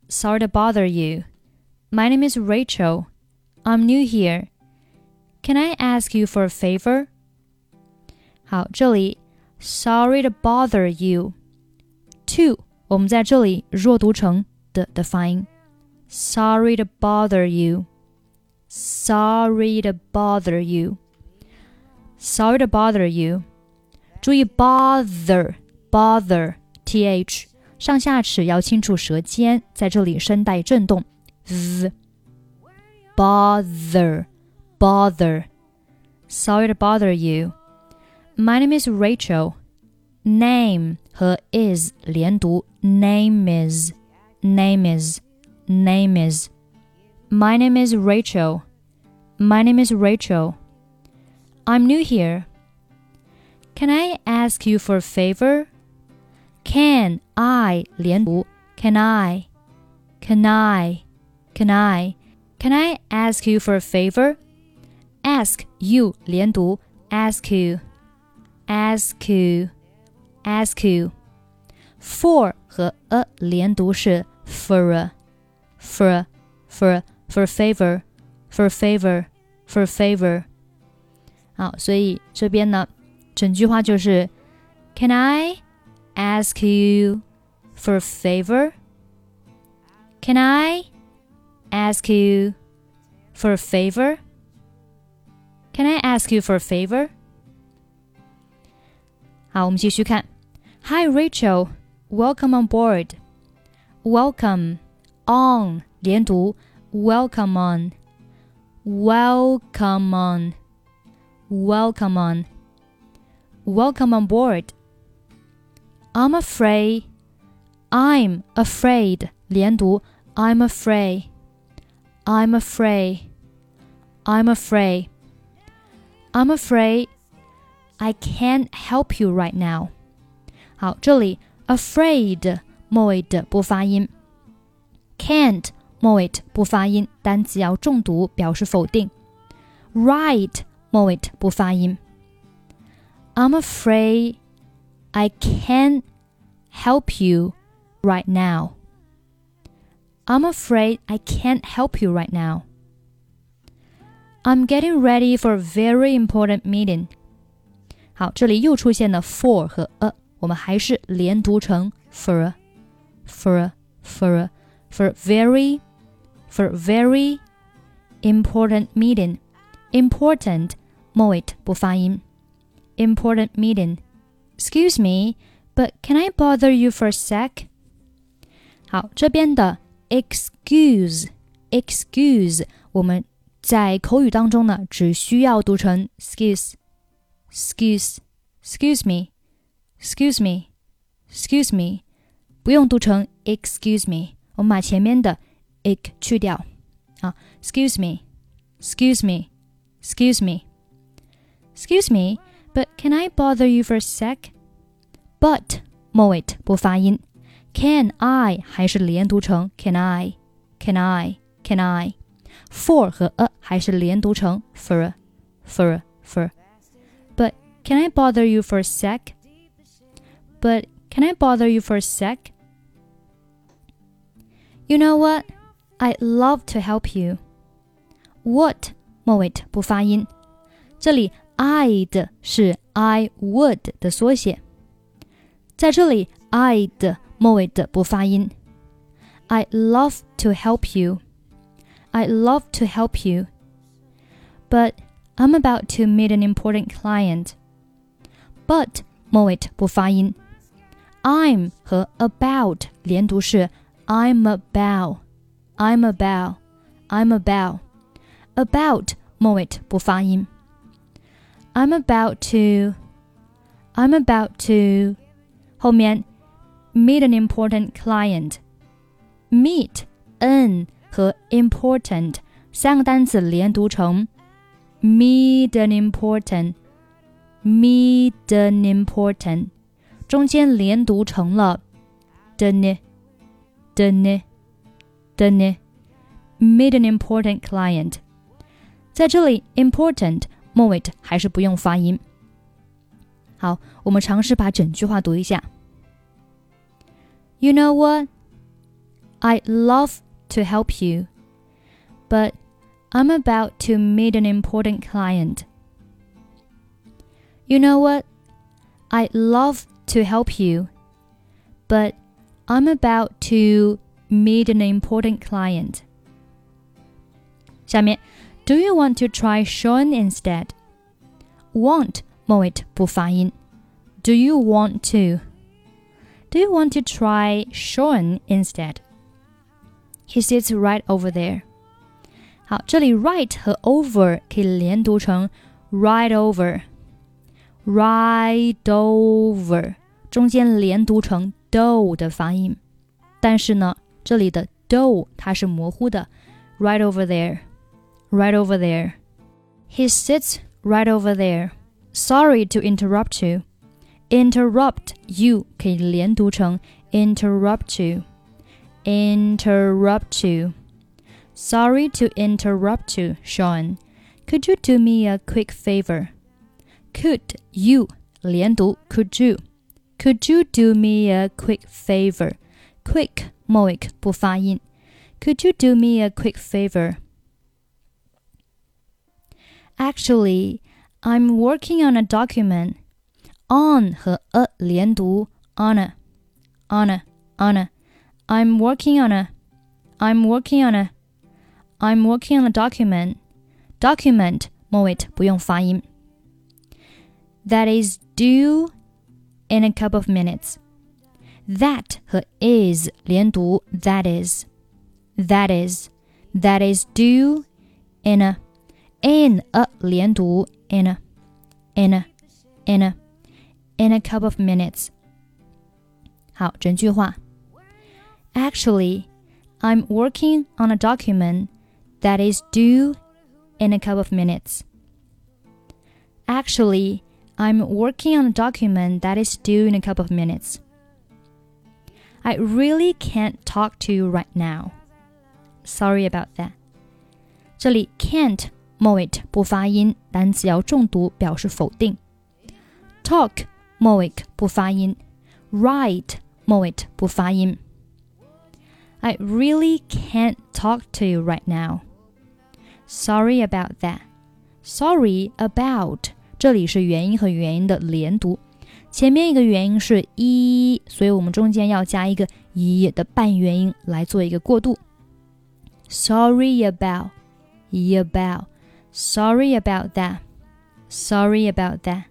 Sorry to bother you. My name is Rachel. I'm new here. Can I ask you for a favor? 好，这里 Sorry to bother you. To 我们在这里弱读成的发音。Sorry to bother you. Sorry to bother you. Sorry to bother you. 注意 bother th 上下齿要清楚舌尖，在这里声带震动 bother. Sorry to bother you. My name is Rachel. Name 和 is 连读 name is. My name is Rachel. My name is Rachel. I'm new here. Can I ask you for a favor? Can I 连读 Can I ask you for a favor? Ask you 连读 Ask you. For 和 a 连读是 for a favor. 好，所以这边呢，整句话就是 Can I ask you for a favor? Can I ask you for a favor? Can I ask you for a favor? 好，我们继续看。Hi Rachel, welcome on board. Welcome on 连读 Welcome on. Welcome on board. I'm afraid 连读 I'm afraid. I can't help you right now. 好，这里 afraid 末尾的不发音， can't 末尾不发音，单词要重读表示否定。 right 末尾不发音。 I'm afraid I can't help you right now. I'm afraid I can't help you right now. I'm getting ready for a very important meeting. 好，这里又出现了 for 和 a， 我们还是连读成 for very important meeting. Important 末尾不发音。 Important meeting. Excuse me, but can I bother you for a sec? 好，这边的 excuse 我們在口語當中呢，只需要讀成 excuse me， 不用讀成 excuse me， 我們把前面的 ik 去掉啊 excuse me, but can I bother you for a sec? But 末尾不發音， can I 還是連讀成 can I. For 和 a 還是連讀成 for. But can I bother you for a sec? You know what? I'd love to help you. What 末尾不發音，這裡 I'd 是 I would 的縮寫，在這裡 I'd 末尾的不發音。I'd love to help you. But I'm about to meet an important client. But 末尾不發音。I'm 和 about 連讀是 I'm about. About 末尾不發音。I'm about to 後面 meet an important client. Meet an 和 important 三個單詞連讀成 meet an important， 中間連讀成了的呢 meet an important client， 在這裡 important 末尾還是不用發音。好，我們嘗試把整句話讀一下。You know what? I'd love to help you, but I'm about to meet an important client. You know what? I'd love to help you, but I'm about to meet an important client. 下面 Do you want to try Sean instead? Want 末尾不发音。Do you want to? Do you want to try Sean instead? He sits right over there. 好，这里 right 和 over 可以连读成 right over, right over, 中间连读成 do 的发音。但是呢，这里的 do 它是模糊的 right over there, right over there. He sits right over there. Sorry to interrupt you. Interrupt you 可以连读成 interrupt you, interrupt you. Sorry to interrupt you, Sean. Could you do me a quick favor? Could you 连读 could you. Could you do me a quick favor? Quick 末尾不发音。Could you do me a quick favor? Actually, I'm working on a document. On 和 a 连读 on a. I'm working on a document. Document 末尾不用发音。That is due in a couple of minutes. That 和 is 连读 that is due in a 连读 in a couple of minutes. 好，整句话。Actually, I'm working on a document that is due in a couple of minutes. Actually, I'm working on a document that is due in a couple of minutes. I really can't talk to you right now. Sorry about that. 这里 can't 末尾不发音，单词要重读表示否定。Talk 末尾不发音。Right 末尾不发音。I really can't talk to you right now. Sorry about that. Sorry about 这里是元音和元音的连读，前面一个元音是一，所以我们中间要加一个一的半元音来做一个过渡。Sorry about, Sorry about that. Sorry about that.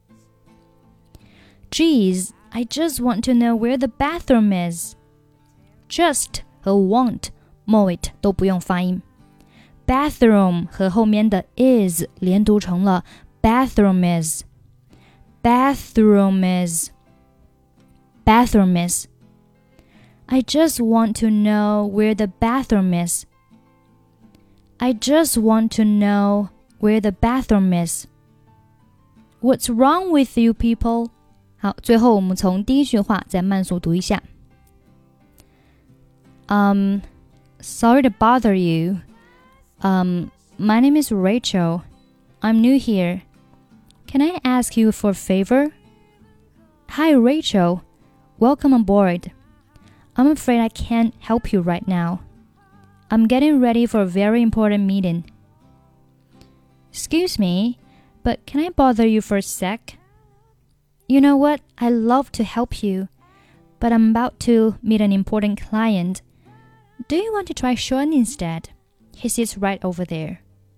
Geez, I just want to know where the bathroom is. Just 和 want 末尾都不用发音。Bathroom 和后面的 is 连读成了 bathroom is. Bathroom is. Bathroom is. I just want to know where the bathroom is. I just want to know where the bathroom is. What's wrong with you people? 好，最后我们从第一句话再慢速读一下。Sorry to bother you. My name is Rachel. I'm new here. Can I ask you for a favor? Hi, Rachel. Welcome aboard. I'm afraid I can't help you right now. I'm getting ready for a very important meeting. Excuse me, but can I bother you for a sec? You know what? I'd love to help you, but I'm about to meet an important client. Do you want to try Sean instead? He sits right over there.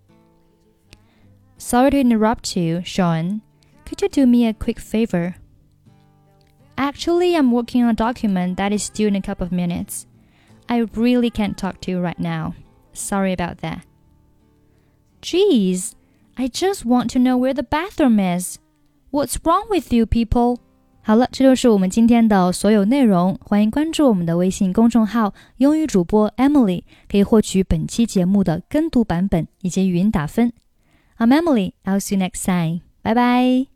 Sorry to interrupt you, Sean. Could you do me a quick favor? Actually, I'm working on a document that is due in a couple of minutes. I really can't talk to you right now. Sorry about that. Geez, I just want to know where the bathroom is. What's wrong with you people? 好了，这就是我们今天的所有内容。欢迎关注我们的微信公众号英语主播 Emily， 可以获取本期节目的跟读版本以及语音打分。I'm Emily. I'll see you next time. Bye bye.